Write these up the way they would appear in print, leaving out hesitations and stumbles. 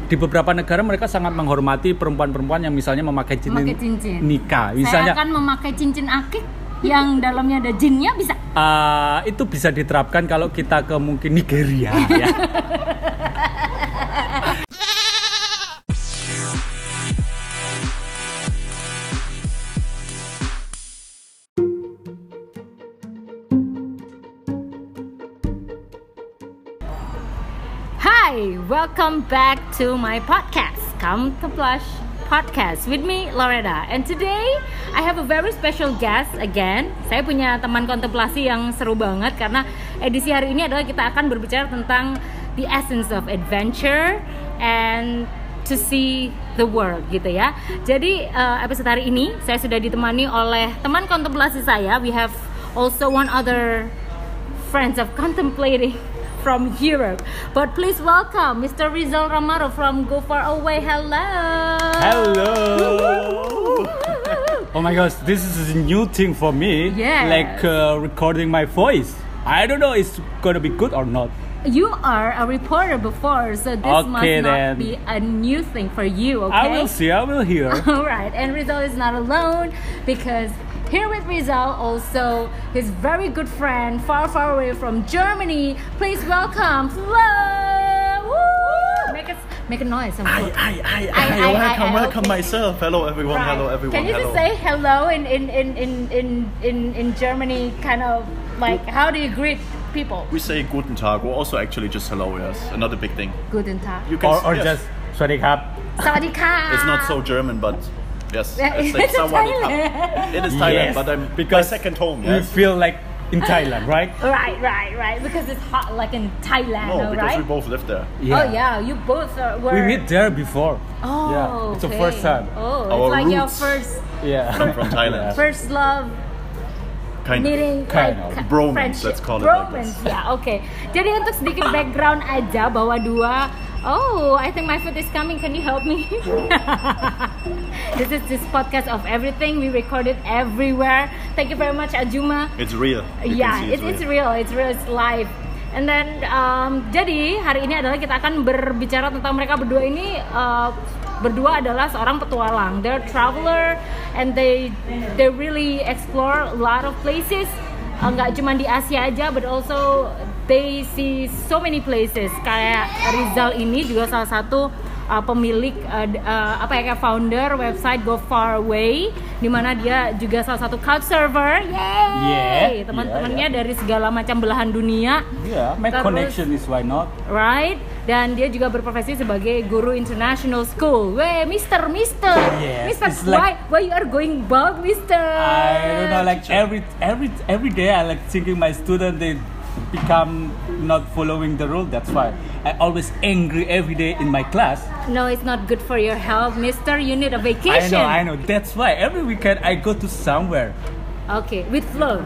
di beberapa negara mereka sangat menghormati perempuan-perempuan yang misalnya memakai cincin nikah. Misalnya, saya akan memakai cincin akik yang dalamnya ada jinnya, bisa? Itu bisa diterapkan kalau kita ke mungkin Nigeria ya. Hi, welcome back to my podcast, Come to Blush Podcast with me, Loretta. And today, I have a very special guest again. Saya punya teman kontemplasi yang seru banget karena edisi hari ini adalah kita akan berbicara tentang the essence of adventure and to see the world gitu ya. Jadi episode hari ini saya sudah ditemani oleh teman kontemplasi saya. We have also one other friends of contemplating from Europe. But please welcome Mr. Rizal Ramaro from Go Far Away. Hello. Hello. Oh my gosh, this is a new thing for me. Yes. Like recording my voice. I don't know it's gonna be good or not. You are a reporter before, so this must not be a new thing for you, okay? I will see, I will hear. Alright, and Rizal is not alone because here with Rizal also his very good friend far away from Germany. Please welcome Flo. Woo! Make a noise. Welcome okay. myself. Hello everyone. Right. Hello everyone. Can you just say hello in Germany? Kind of like how do you greet people? We say Guten Tag, or also actually just hello. Yes, another big thing. Guten Tag. You can Or yes. just สวัสดีครับ Sawadee-ka. It's not so German, but yes, It's like Thailand. It is Thailand, Yes, but I'm because my second home. We Yes. feel like in Thailand, right? Right. Because it's hot, like in Thailand, No, because right? we both live there. Oh yeah, you both were. We meet there before. Oh, yeah, it's okay. the first time. Oh, Our it's like your roots. first Yeah. Come from Thailand. first love Kind meeting, Kind like of. Bromance, friendship. let's call it like Bromance, this. ya, oke. Jadi untuk sedikit background aja bahwa dua. Oh, I think my food is coming. Can you help me? This is this podcast of everything. We record it everywhere. Thank you very much, Ajuma. It's real. You Yeah, can see it's real. It's live. And then jadi hari ini adalah kita akan berbicara tentang mereka berdua ini. Berdua adalah seorang petualang. They're traveler and they really explore a lot of places. Nggak cuma di Asia aja, but also they see so many places. Kayak Rizal ini juga salah satu pemilik kayak founder website Go Far Away, di mana dia juga salah satu couchsurfer. Yay! Teman-temannya dari segala macam belahan dunia. Yeah, make connection is why not? Right? Dan dia juga berprofesi sebagai guru international school. Wey, Mister. Yes, Mister, it's like, why you are going bald, Mister? I don't know, like every day I like thinking my student they become not following the rule. That's why I always angry every day in my class. No, it's not good for your health, Mister. You need a vacation. I know. That's why every weekend I go to somewhere. Okay, with Flo.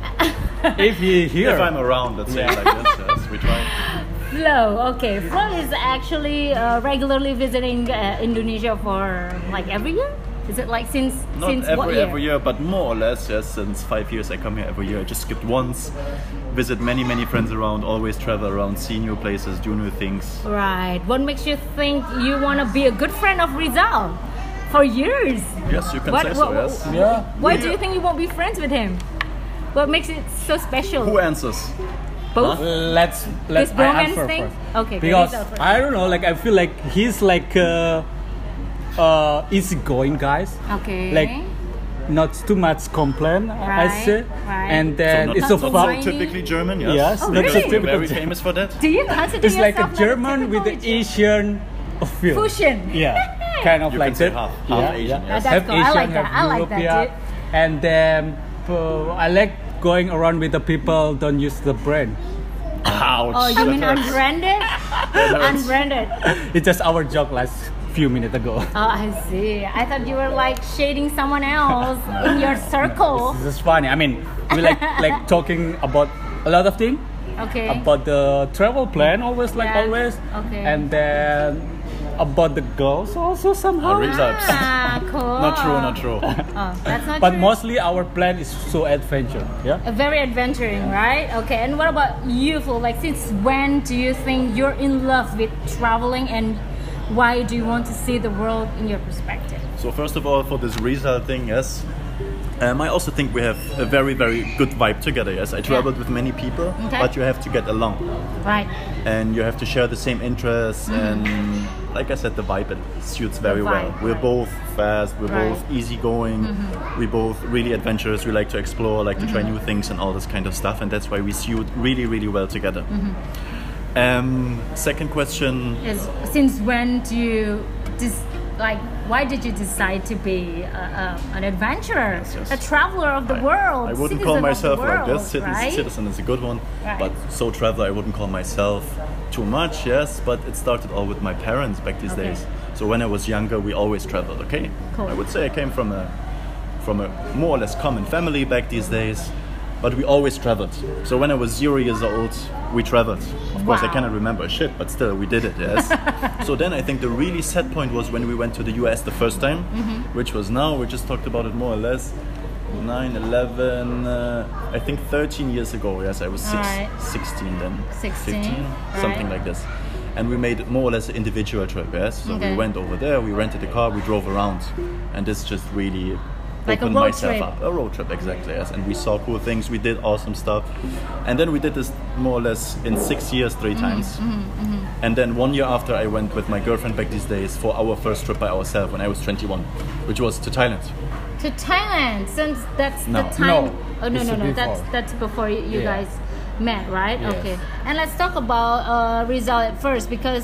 If you here, If I'm around, let's say it like this. Yes, we try. Flo, okay. Flo is actually regularly visiting Indonesia for like every year. Is it like since what year? every year, but more or less, yes. Since 5 years, I come here every year. I just skipped once. Visit many friends around. Always travel around, see new places, do new things. Right. What makes you think you want to be a good friend of Rizal for years? Yes, you can say so. Yes. yeah. Why do you think you won't be friends with him? What makes it so special? Who answers? Both? Let's This I bromance answer thing? first. Okay, Because Rizal first. I don't know, like I feel like he's like easygoing guys. Okay. Like not too much complain, I Right, say. right. And then not, it's so not fun. so typically German. Yes. Yes, Oh, not so really? typical. Very famous for that. Do you consider It's like a yourself German with the typical Asian feel. fusion? Yeah, kind of You like can say that. half Asian, yes. That's Half cool. I Asian, like that. half I like that, European. dude. And then I like going around with the people don't use the brain. Ouch. Oh, you mean That hurts. unbranded? hurts. Unbranded. It's just our joke last few minutes ago. Oh, I see. I thought you were like shading someone else in your circle. This is funny. I mean, we like talking about a lot of things. Okay. About the travel plan, always. Okay. And then about the girls also somehow. Results. Cool. Not true. Oh, that's not But true. mostly our plan is so adventure. Yeah. Very adventuring, right? Okay, and what about you, Flo? Like, since when do you think you're in love with traveling and why do you want to see the world in your perspective? So first of all, for this result thing, yes. I also think we have a very, very good vibe together, yes. I traveled with many people, but you have to get along. Right. And you have to share the same interests, and like I said, the vibe, it suits very well. We're both fast, we're both easygoing, we're both really adventurous, we like to explore, like to try new things and all this kind of stuff, and that's why we suit really, really well together. Second question is, since when do you why did you decide to be an adventurer, a traveler of the world? I wouldn't call myself world, like this. right? Citizen is a good one, right. But so traveler, I wouldn't call myself too much. Yes, but it started all with my parents back these days. So when I was younger, we always traveled. Okay, cool. I would say I came from a more or less common family back these days. But we always traveled. So when I was 0 years old, we traveled. Of course, I cannot remember shit, but still, we did it, yes. So then I think the really sad point was when we went to the US the first time, which was now, we just talked about it more or less, 9, 11, I think 13 years ago, yes, I was 16 then. 15, something like this. And we made more or less an individual trip, yes. So we went over there, we rented a car, we drove around. And this just really opened myself up. A road trip, exactly, yes. And we saw cool things, we did awesome stuff. And then we did this more or less in 6 years, 3 times. And then 1 year after, I went with my girlfriend back these days for our first trip by ourselves when I was 21, which was to Thailand. To Thailand, since that's the time. No. Oh no, that's before you guys met, right? Yes. Okay. And let's talk about Rizal at first, because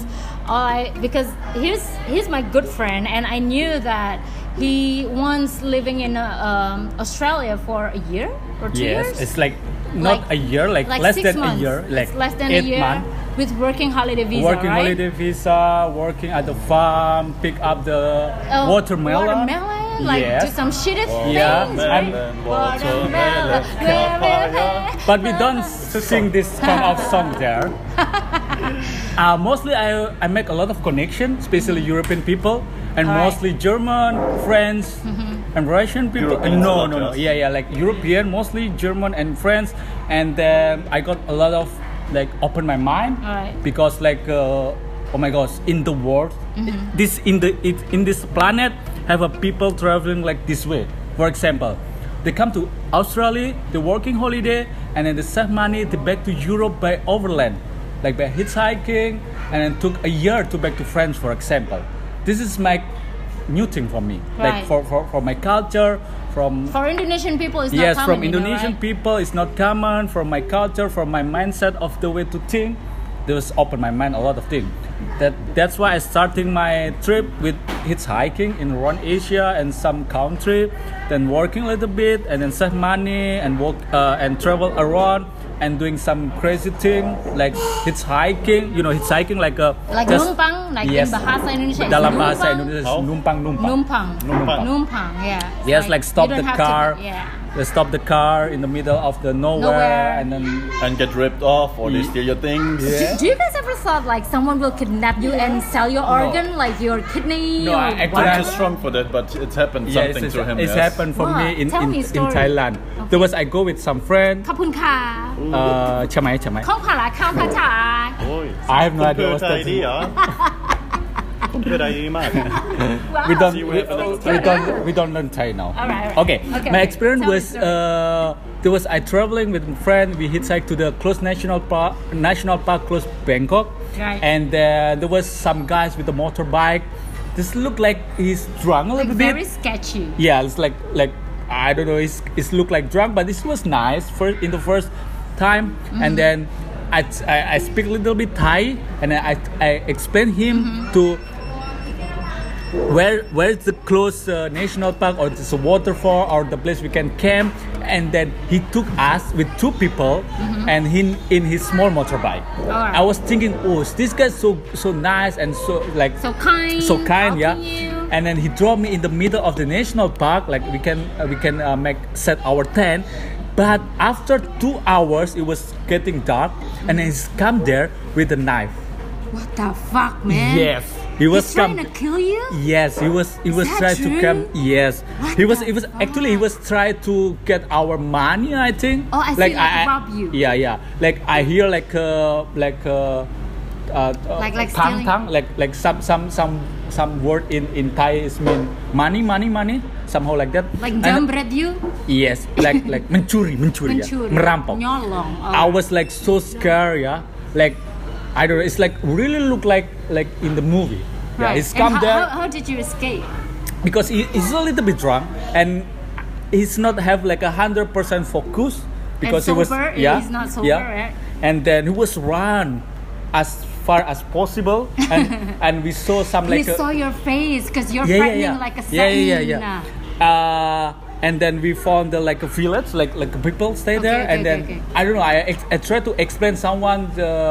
he's my good friend, and I knew that he once living in Australia for a year or 2 years. Yes, it's like not a year, like less than months. a year, like less than 8 a year months. with working holiday visa, Working right? holiday visa, working at the farm, pick up the watermelon. Like yes. do some shitty Yeah. things, right? Watermelon, But we don't sing this kind of song there. Mostly I make a lot of connection, especially European people, and mostly German, French, and Russian people. Europeans No, not just. yeah, like European, mostly German and French, and then I got a lot of like open my mind because like oh my gosh, in the world, in this planet, have a people traveling like this way. For example, they come to Australia, they working holiday, and then they save money, they back to Europe by overland, like by hitchhiking, and then took a year to back to France, for example. This is my new thing for me, like for my culture. For Indonesian people, it's not common. Yes, from Indonesian people, it's not common. From my culture, from my mindset of the way to think, this opened my mind a lot of things. That's why I starting my trip with hitchhiking in around Asia and some country, then working a little bit and then save money and work and travel around and doing some crazy thing like hitchhiking. You know, hitchhiking like numpang, like in bahasa Indonesia. Dalam bahasa Indonesia, numpang. Yeah. Yes, like stop the car. They stop the car in the middle of the nowhere. and get ripped off or they steal your things. Do you guys ever thought like someone will kidnap you and sell your organ, like your kidney? No, I'm too strong for that, but it happened something to him. It's happened for me in Thailand. There was I go with some friend. ขอบคุณค่ะใช่ไหมข้าวผัดข้าวผัดฉาย I have no idea what's that. We don't learn Thai now. All right. Okay. My experience was there was I traveling with a friend. We hitchhiked to the close national park close Bangkok, and there was some guys with a motorbike. This looked like he's drunk a little bit. Very sketchy. Yeah, it's like I don't know. It's looked like drunk, but this was nice in the first time, and then I speak a little bit Thai, and I explain him to where is the close national park or it's a waterfall or the place we can camp, and then he took us with 2 people and in his small motorbike. I was thinking, oh, this guy's so nice and so kind, yeah. And then he dropped me in the middle of the national park, like we can set our tent. But after 2 hours, it was getting dark, and he's come there with a knife. What the fuck, man? Yes, he was trying to kill you. Yes, he was trying to come. Yes, he was trying to get our money. I think. Oh, I see. Like rob you. Yeah. Like I hear like like tang, like some word in Thai is mean money, somehow like that. Like jambret you? Yes, like mencuri, ya, merampok. Nyolong. I was like so scared, yeah. Like I don't know, it's like really look like in the movie. Right. Yeah, he's come there. How did you escape? Because he's a little bit drunk and he's not have like 100% focus because and he sober, was yeah he's not sober, yeah right? And then he was run as far as possible and we saw some like we saw your face because you're frightening like a hyena. And then we found like a village like people stay there and then I don't know, I tried to explain someone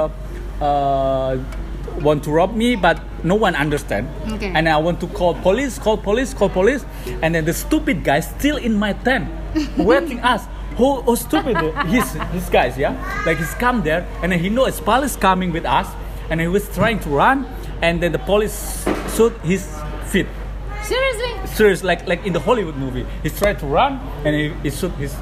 want to rob me but no one understand and I want to call police and then the stupid guy still in my tent waiting us. How stupid his guys, yeah, like he's come there and then he knows police coming with us and he was trying to run and then the police shoot his feet. Serious, like in the Hollywood movie. He's trying to run and he shoot his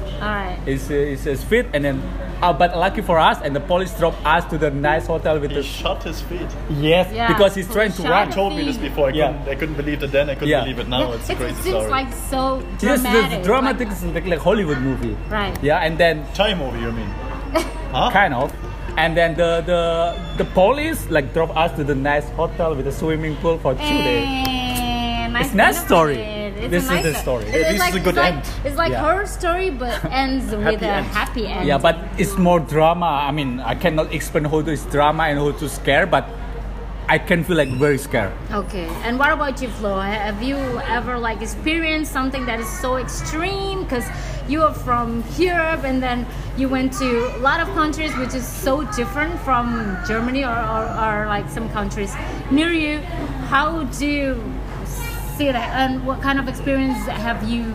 feet and then but lucky for us and the police dropped us to the nice hotel with he shot his feet. Yes, because he's trying to run. You told me this before. I couldn't believe it then. I couldn't believe it now. It's a crazy story. It seems like so dramatic. Yes, the dramatic is like Hollywood movie. Right. Yeah, and then Thai movie, you mean? Huh? Kind of. And then the police like drove us to the nice hotel with a swimming pool for 2 days. It's a nice story. This is the story. This is a good end. It's like her story, but ends with a happy end. Yeah, but it's more drama. I mean, I cannot explain how to is drama and how to scare, but I can feel like very scared. Okay, and what about you, Flo? Have you ever like experienced something that is so extreme? Because you are from Europe and then you went to a lot of countries which is so different from Germany or like some countries near you. How do you see that, and what kind of experience have you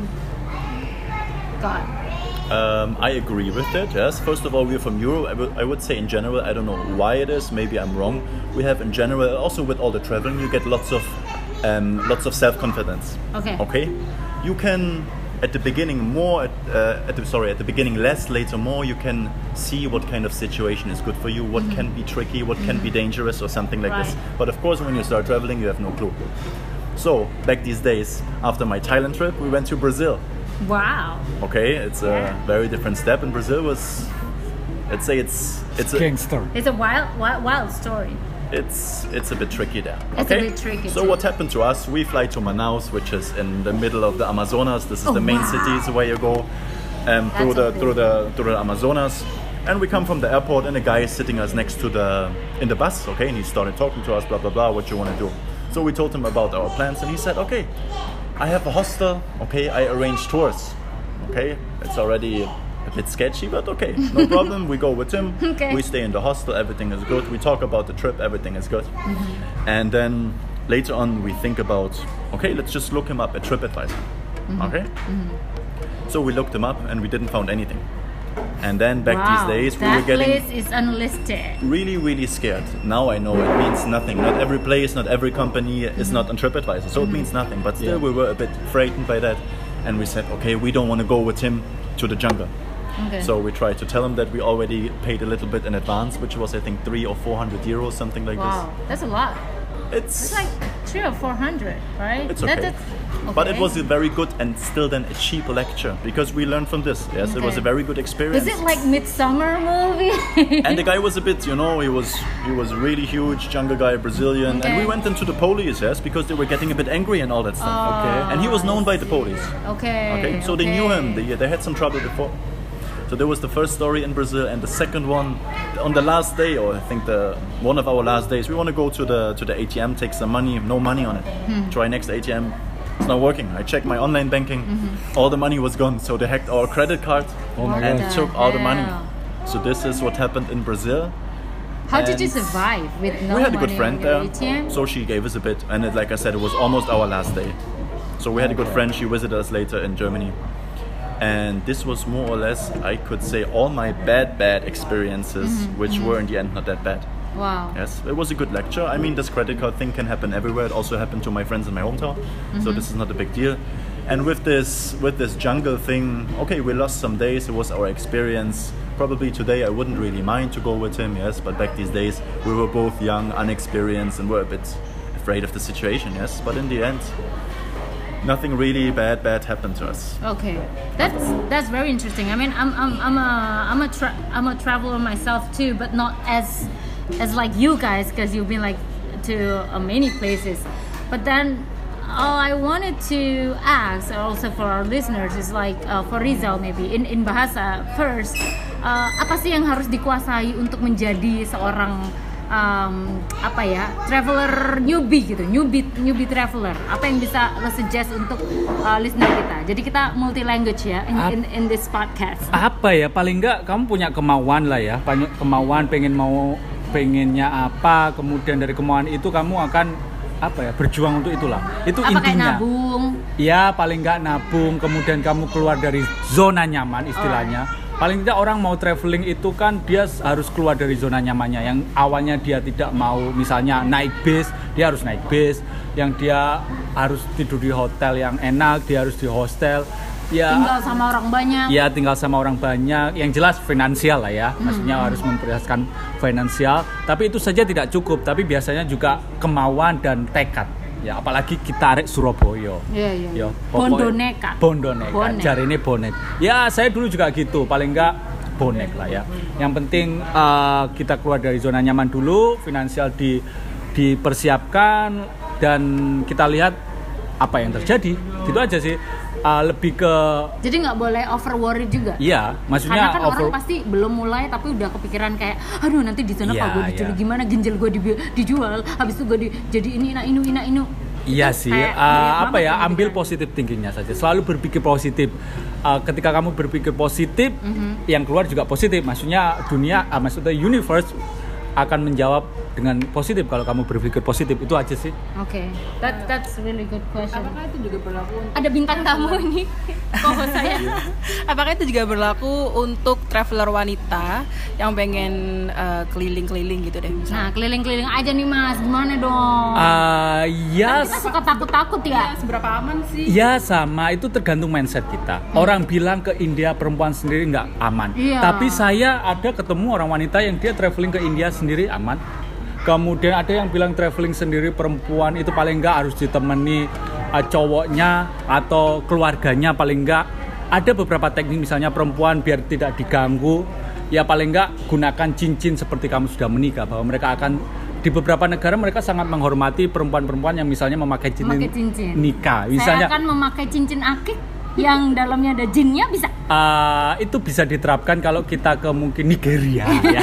got? I agree with that. Yes. First of all, we're from Europe. I would say in general, I don't know why it is. Maybe I'm wrong. We have in general, also with all the traveling, you get lots of self-confidence. Okay. You can at the beginning more. At the beginning less. Later more. You can see what kind of situation is good for you. What can be tricky. What can be dangerous or something like this. But of course, when you start traveling, you have no clue. So back these days, after my Thailand trip, we went to Brazil. Wow. Okay, it's a very different step. In Brazil was, let's say it's a gangster. It's a wild story. It's a bit tricky there. It's a bit tricky. So what happened to us? We fly to Manaus, which is in the middle of the Amazonas. This is the main city where you go through the Amazonas. And we come from the airport, and a guy is sitting us next to in the bus. Okay, and he started talking to us, blah blah blah. What you want to do? So we told him about our plans, and he said, okay, I have a hostel, okay, I arrange tours, okay, it's already a bit sketchy, but okay, no problem, we go with him, we stay in the hostel, everything is good, we talk about the trip, everything is good, and then later on we think about, okay, let's just look him up at TripAdvisor, okay, so we looked him up and we didn't find anything. And then back these days we were getting that place is unlisted. Really scared. Now I know it means nothing. Not every place, not every company is not on TripAdvisor, so it means nothing. But still we were a bit frightened by that, and we said, okay, we don't want to go with him to the jungle. So we tried to tell him that we already paid a little bit in advance, which was I think 300 or 400 euros, something like this. Wow, that's a lot. It's like 300 or 400, right? It's okay. But it was a very good and still then a cheap lecture because we learned from this. Yes, it was a very good experience. Is it like Midsummer movie? And the guy was a bit, he was really huge, jungle guy, Brazilian. And we went into the police, yes, because they were getting a bit angry and all that stuff. And he was known by the police. So they knew him. They had some trouble before. So that was the first story in Brazil, and the second one on the last day, or I think one of our last days, we want to go to the ATM, take some money, no money on it. Try next ATM, it's not working. I checked my online banking, all the money was gone. So they hacked our credit card and took all the money. So this is what happened in Brazil. How did you survive with no money? We had a good friend there, ATM? so she gave us a bit, and like I said, it was almost our last day. So we had a good friend. She visited us later in Germany. And this was more or less, I could say, all my bad experiences, which were in the end not that bad. Wow. Yes, it was a good lecture. I mean, this credit card thing can happen everywhere. It also happened to my friends in my hometown, so this is not a big deal. And with this jungle thing, okay, we lost some days. It was our experience. probably today I wouldn't really mind to go with him, yes, but back these days we were both young, unexperienced, and were a bit afraid of the situation, yes. But in the end, nothing really bad happened to us. Okay, that's very interesting. I mean, I'm a traveler myself too, but not as like you guys, because you've been like to many places. But then I wanted to ask also for our listeners is like for Rizal maybe in bahasa first, apa sih yang harus dikuasai untuk menjadi seorang traveler newbie gitu, newbie traveler. Apa yang bisa lo suggest untuk listener kita? Jadi kita multi language ya in this podcast. Apa ya, paling enggak kamu punya kemauan lah ya, kemauan pengennya apa, kemudian dari kemauan itu kamu akan berjuang untuk itulah. Itu apa, intinya. Kayak nabung? Ya, paling nggak nabung, kemudian kamu keluar dari zona nyaman istilahnya. Paling tidak orang mau traveling itu kan dia harus keluar dari zona nyamannya. Yang awalnya dia tidak mau misalnya naik bis, dia harus naik bis. Yang dia harus tidur di hotel yang enak, dia harus di hostel. Ya, tinggal sama orang banyak. Ya, tinggal sama orang banyak. Yang jelas finansial lah ya. Maksudnya harus memprioritaskan finansial. Tapi itu saja tidak cukup. Tapi biasanya juga kemauan dan tekad. Ya, apalagi kita arek Surabaya. Iya. Bondoneka. Jari ini bonek. Ya, saya dulu juga gitu. Paling enggak bonek lah ya. Yang penting kita keluar dari zona nyaman dulu. Finansial dipersiapkan. Dan kita lihat apa yang terjadi. Gitu aja sih. Lebih ke jadi nggak boleh over worry juga. Iya, maksudnya karena kan orang pasti belum mulai tapi udah kepikiran kayak aduh nanti di sana kalau gue diculik gimana, ginjal gue dijual, habis itu gue jadi ini. Iya sih, ambil positif thinkingnya saja, selalu berpikir positif. Ketika kamu berpikir positif, yang keluar juga positif. Maksudnya maksudnya universe akan menjawab dengan positif kalau kamu berpikir positif. Itu aja sih. Oke, that's really good question. Apakah itu juga berlaku? Ada bintang tamu ini, kok saya. Apakah itu juga berlaku untuk traveler wanita yang pengen keliling-keliling gitu deh? Misalnya. Nah, keliling-keliling aja nih Mas, gimana dong? Ya. Kita suka takut-takut ya. Seberapa aman sih? Ya sama, itu tergantung mindset kita. Orang bilang ke India perempuan sendiri nggak aman. Iya. Tapi saya ada ketemu orang wanita yang dia traveling ke India sendiri aman. Kemudian ada yang bilang traveling sendiri perempuan itu paling nggak harus ditemani cowoknya atau keluarganya, paling nggak. Ada beberapa teknik misalnya perempuan biar tidak diganggu, ya paling nggak gunakan cincin seperti kamu sudah menikah, bahwa mereka akan di beberapa negara mereka sangat menghormati perempuan-perempuan yang misalnya memakai cincin nikah. Misalnya, saya akan memakai cincin akik yang dalamnya ada jinnya, bisa? Itu bisa diterapkan kalau kita ke mungkin Nigeria ya.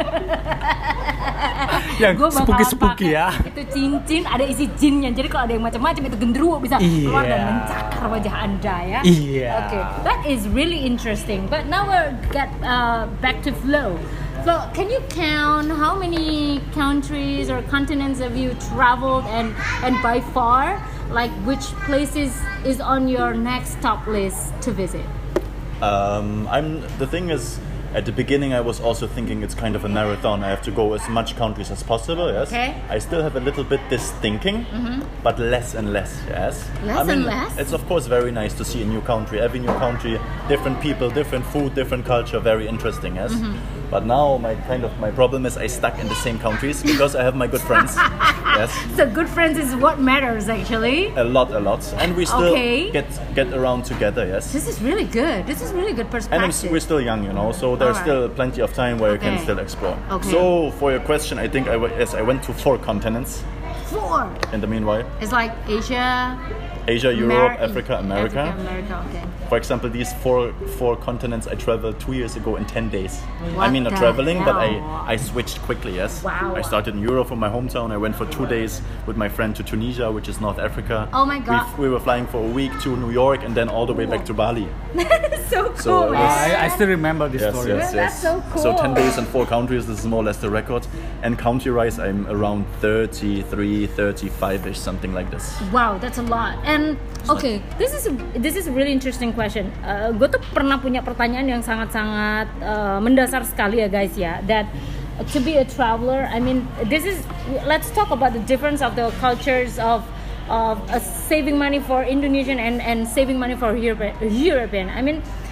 Yang spooky ya. Itu cincin ada isi jinnya. Jadi kalau ada yang macam-macam itu genderuwo bisa keluar dan mencakar wajah Anda ya. Iya. Okay, that is really interesting. But now we'll get back to Flo. Flo, can you count how many countries or continents have you traveled and by far, like which places is on your next top list to visit? The thing is, at the beginning I was also thinking it's kind of a marathon. I have to go as much countries as possible, yes. Okay. I still have a little bit this thinking, but less and less, yes. And less? It's of course very nice to see a new country. Every new country, different people, different food, different culture, very interesting, yes. But now my problem is I stuck in the same countries because I have my good friends. Yes. So good friends is what matters actually. A lot. And we still get around together, yes. This is really good. This is really good perspective. And we're still young, so there's still plenty of time where you can still explore. Okay. So for your question, I think I went to 4 continents. 4? In the meanwhile. It's like Asia, Europe, Africa, America. Okay. For example, these four continents I traveled 2 years ago in 10 days. What I mean, not the traveling, hell? but I switched quickly, yes. Wow. I started in Europe from my hometown. I went for 2 days with my friend to Tunisia, which is North Africa. Oh my God. We were flying for a week to New York and then all the way back to Bali. So cool, So it was- man. I still remember this story. Yes. That's so cool. So 10 days in 4 countries, this is more or less the record. And country-wise, I'm around 33, 35-ish, something like this. Wow, that's a lot. And okay, this is a really interesting question. Gue tuh pernah punya pertanyaan yang sangat-sangat mendasar sekali ya guys ya. That to be a traveler, I mean, let's talk about the difference of the cultures of saving money for Indonesian and saving money for European. I mean,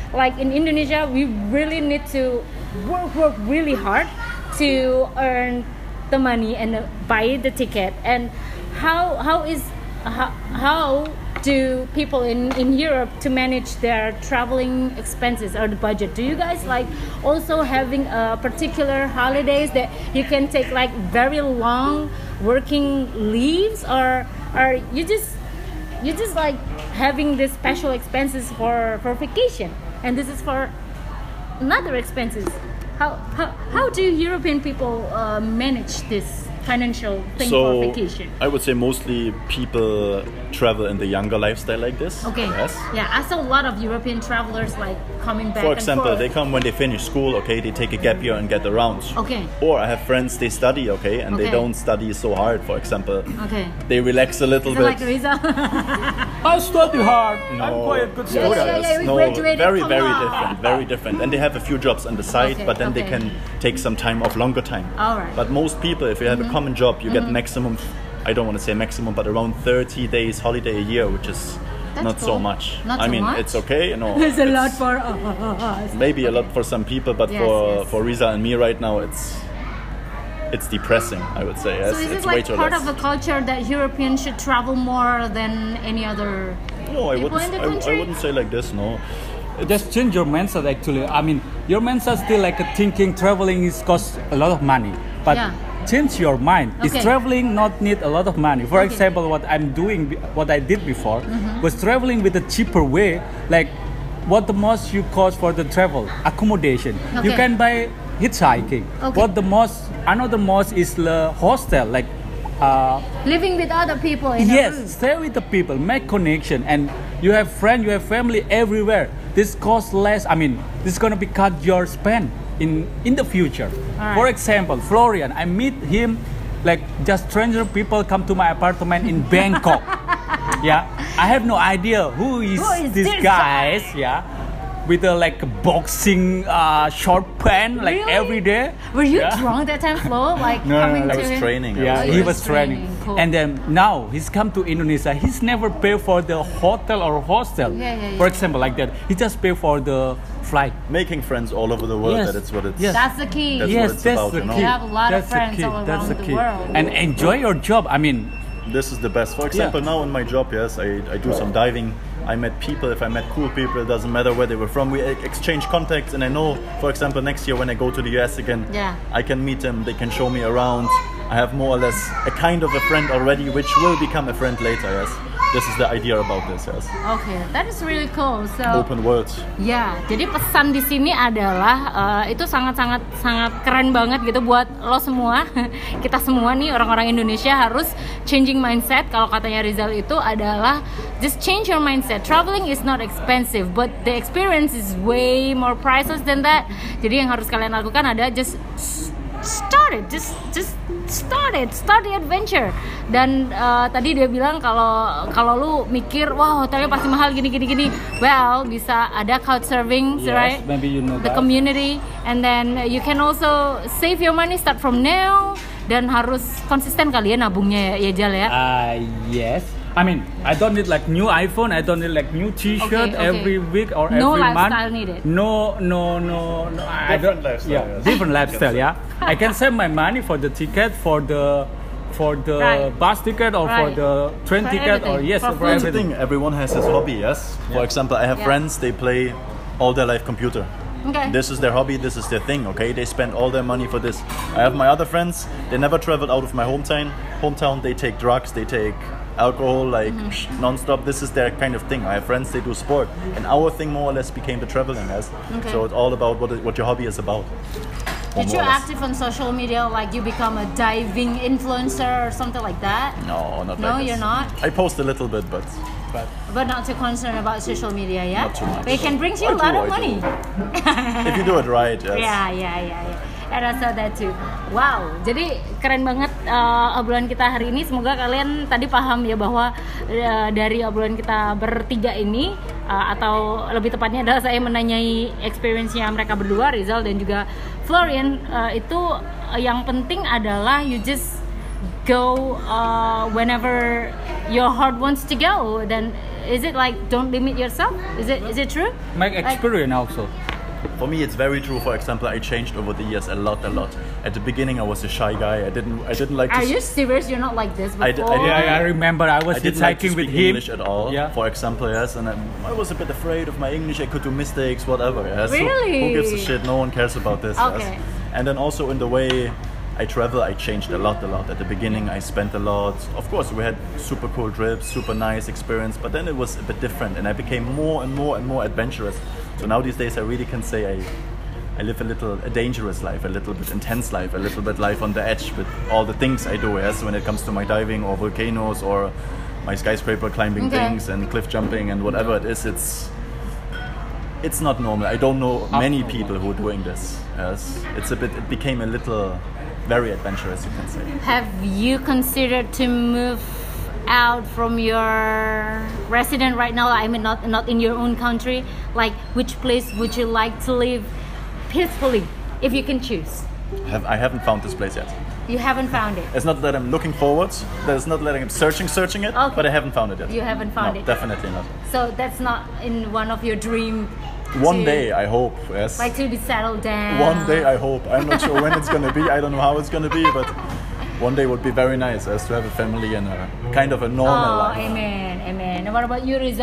like in Indonesia, we really need to work really hard to earn the money and buy the ticket. And how do people in Europe to manage their traveling expenses or the budget? Do you guys like also having particular holidays that you can take like very long working leaves, or you just like having this special expenses for vacation, and this is for another expenses? How do European people manage this financial thing for vacation? I would say mostly people travel in the younger lifestyle like this. Okay. Yes. Yeah, I saw a lot of European travelers like coming back. For example, and forth. they come when they finish school, okay, they take a gap year and get around. Okay. Or I have friends, they study, okay, and they don't study so hard, for example. Okay. They relax a little bit. Like Riza? I study hard. No. I'm quite a good Yeah, student. we No, graduated. very, Come very on. different, very different. And they have a few jobs on the side, Okay, but then they okay. can take some time off, longer time. All right. But most people, if you have a common job, you get maximum, I don't want to say maximum, but around 30 days holiday a year, which is That's not so cool. much. Not I so mean, much? it's okay, It's a lot for us. maybe a lot for some people, but Yes, yes. for Riza and me right now, it's depressing, I would say. Yes, So is it's it way like too part less. of a culture that Europeans should travel more than any other No, I people in the wouldn't. I country? wouldn't say like this. No. Just change your mindset actually. I mean, your mindset still like thinking traveling is cost a lot of money, but Yeah. change your mind. Is Okay. traveling not need a lot of money? For Okay. example, what I did before was traveling with a cheaper way. Like, what the most you cost for the travel accommodation? You Okay. can buy hitchhiking. Okay. What the most? Another most is the hostel. Like, living with other people in a yes, room. stay with the people, make connection, and you have friends, you have family everywhere. This costs less. I mean, this is gonna be cut your spend in the future. Alright. For example, Florian, I meet him like just stranger people come to my apartment in Bangkok. Yeah, I have no idea who is this this guy. Yeah, with a like boxing short pant like Really? every day. Were you Yeah. drunk that time, Flo? Like No, coming I to was him? training. Yeah, Oh, he you was was training. training. Cool. And then now he's come to Indonesia. He's never paid for the hotel or hostel. Yeah, yeah, For yeah. example, like that. He just pay for the flight. Making friends all over the world. Yes. That's what it's. Yes. That's the key. That's Yes, what it's that's about, the you know? key. You have a lot of That's the friends key. all That's around the key. world. And enjoy your job. I mean, This is the best. For example, now in my job, yes, I do some diving. I met people. If I met cool people, it doesn't matter where they were from. We exchange contacts, and I know, for example, next year when I go to the US again, Yeah. I can meet them. They can show me around. I have more or less a kind of a friend already, which will become a friend later. Yes, this is the idea about this. Yes, Okay, that is really cool. So open world. ya, jadi pesan di sini adalah itu sangat keren banget gitu buat lo semua. Kita semua nih orang-orang Indonesia harus changing mindset. Kalau katanya Rizal itu adalah just change your mindset. Traveling is not expensive, but the experience is way more priceless than that. Jadi yang harus kalian lakukan adalah just start it, just start the adventure. Dan tadi dia bilang kalau lu mikir wah hotelnya pasti mahal gini, well bisa ada couchsurfing, yes, right? maybe you know The that. community, and then you can also save your money, start from now. Dan harus konsisten kali ya nabungnya ya Jal ya. Yes. I mean, I don't need like new iPhone. I don't need like new T-shirt Okay. every week or No every month. lifestyle needed. No. I Different don't. lifestyle, Yeah, yes. different lifestyle. Yeah, I can save my money for the ticket, for the Right. bus ticket, or for Right. the train For ticket, or everything. yes, For for food. That's the everything. thing. Everyone has his hobby. Yes. For example, I have Yeah. friends. They play all their life computer. Okay. This is their hobby, this is their thing, okay? They spend all their money for this. I have my other friends, they never traveled out of my hometown. They take drugs, they take alcohol, like non-stop. This is their kind of thing. I have friends, they do sport. And our thing more or less became the traveling, yes? Okay. So it's all about what your hobby is about. Or Did you more or less. active on social media, like you become a diving influencer or something like that? No, not No, like this. you're not? I post a little bit, but But not too concerned about social media, yeah? Not too much. But it can bring you a I lot do, of I money. if you do it right, yes. Yeah. I saw that too. Wow, jadi keren banget obrolan kita hari ini. Semoga kalian tadi paham ya bahwa dari obrolan kita bertiga ini atau lebih tepatnya adalah saya menanyai experience-nya mereka berdua, Rizal dan juga Florian, itu yang penting adalah you just go whenever your heart wants to go, dan is it like don't limit yourself? Is it true? My experience also. For me, it's very true. For example, I changed over the years a lot. At the beginning, I was a shy guy. I didn't like. Are you serious? You're not like this before? I remember I was hitchhiking with him. English at all. Yeah. For example, yes, and I was a bit afraid of my English. I could do mistakes, whatever. Yes. Really? So who gives a shit? No one cares about this. Okay. Yes. And then also in the way I travel, I changed a lot. At the beginning, I spent a lot. Of course, we had super cool trips, super nice experience, but then it was a bit different, and I became more and more adventurous. So now these days, I really can say I live a dangerous life, a little bit intense life, a little bit life on the edge with all the things I do. Yes, when it comes to my diving or volcanoes or my skyscraper climbing things and cliff jumping and whatever it is, it's not normal. I don't know many people who are doing this. Yes, it became a little very adventurous, you can say. Have you considered to move out from your resident right now? I mean, not in your own country. Like, which place would you like to live peacefully, if you can choose? I haven't found this place yet. You haven't found it? It's not that I'm looking forward. It's not that I'm searching it. Okay. But I haven't found it yet. You haven't found it? Definitely not. So that's not in one of your dreams? One day, I hope, yes. Like to be settled down? One day, I hope. I'm not sure when it's going to be. I don't know how it's going to be, but one day would be very nice, as to have a family and a kind of a normal life. Amen. And what about you, Rizal?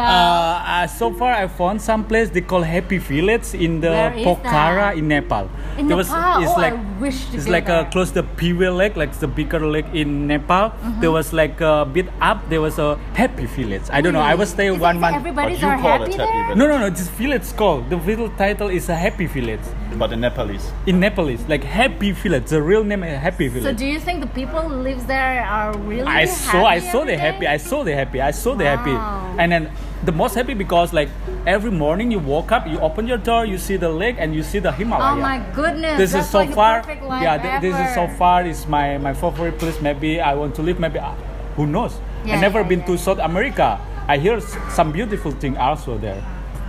So far, I found some place they call Happy Village in the Pokhara in Nepal. In Nepal? I wish to It's be like there. close to Piwe Lake, like the bigger lake in Nepal. There was like a bit up, there was a Happy Village. I don't know, I was there 1 month. Everybody's But you are call happy it there? Happy No, this village called, the village title is a Happy Village. But in Nepalese. In Nepalese, like Happy Village, the real name is Happy Village. So do you think the people who lives there are really I saw every they happy. day? I saw they happy. Wow. And then the most happy because like every morning you woke up, you open your door, you see the lake and you see the Himalaya. Oh my goodness! This that's is so like far. The perfect life This is so ever. far. Is my favorite place. Maybe I want to live. Maybe who knows? Yeah, I never yeah, been yeah. to South America. I hear some beautiful thing also there.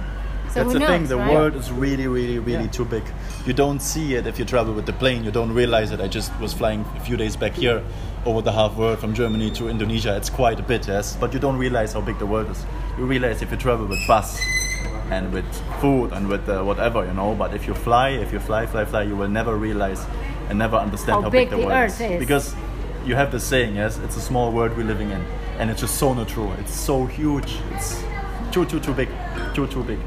So That's who the thing, knows, the right? world is really too big. You don't see it if you travel with the plane, you don't realize it. I just was flying a few days back here over the half world from Germany to Indonesia. It's quite a bit, yes, but you don't realize how big the world is. You realize if you travel with bus and with food and with whatever, but if you fly, you will never realize and never understand how big the world earth is. Because you have this saying, yes, it's a small world we're living in, and it's just so not true. It's so huge. It's too big. Too big.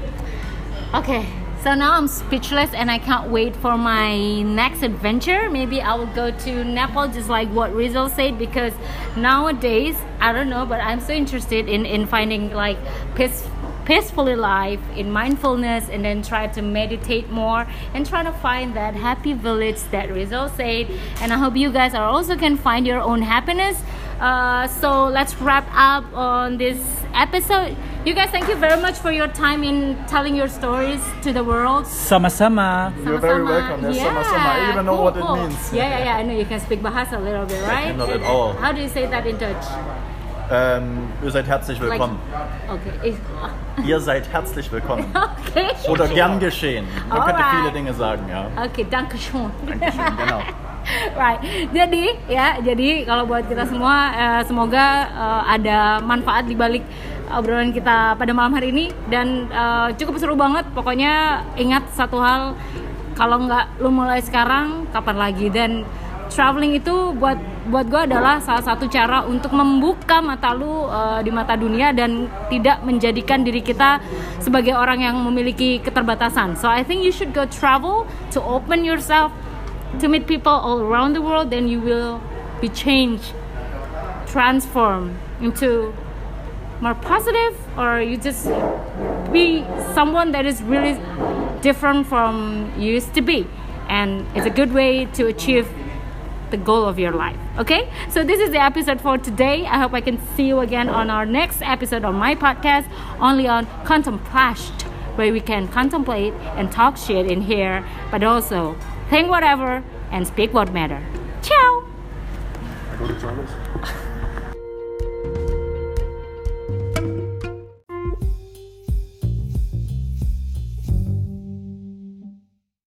Okay, so now I'm speechless and I can't wait for my next adventure. Maybe I will go to Nepal, just like what Rizal said, because nowadays, I don't know, but I'm so interested in finding like peacefully life, in mindfulness, and then try to meditate more and try to find that happy village that Rizal said. And I hope you guys are also can find your own happiness. So let's wrap up on this episode. You guys, thank you very much for your time in telling your stories to the world. Sama-sama. You're very welcome. Yes, sama-sama. I even know what it means. Yeah. I know you can speak Bahasa a little bit, right? Not at all. How do you say that in Dutch? Ihr seid herzlich willkommen. Okay. Ihr seid herzlich willkommen. Okay. Oder gern geschehen. Man könnte Alright. viele Dinge sagen, ja. Okay, dankeschön. Dankeschön, genau. Right. Jadi kalau buat kita semua semoga ada manfaat di balik obrolan kita pada malam hari ini dan cukup seru banget. Pokoknya ingat satu hal, kalau nggak lu mulai sekarang kapan lagi. Dan traveling itu buat gue adalah salah satu cara untuk membuka mata lu di mata dunia dan tidak menjadikan diri kita sebagai orang yang memiliki keterbatasan. So I think you should go travel to open yourself to meet people all around the world, then you will be changed, transformed into more positive, or you just be someone that is really different from you used to be. And it's a good way to achieve the goal of your life. Okay, so this is the episode for today. I hope I can see you again on our next episode on my podcast, only on Contemplashed, where we can contemplate and talk shit in here, but also think whatever and speak what matter. Ciao. I go to toilet.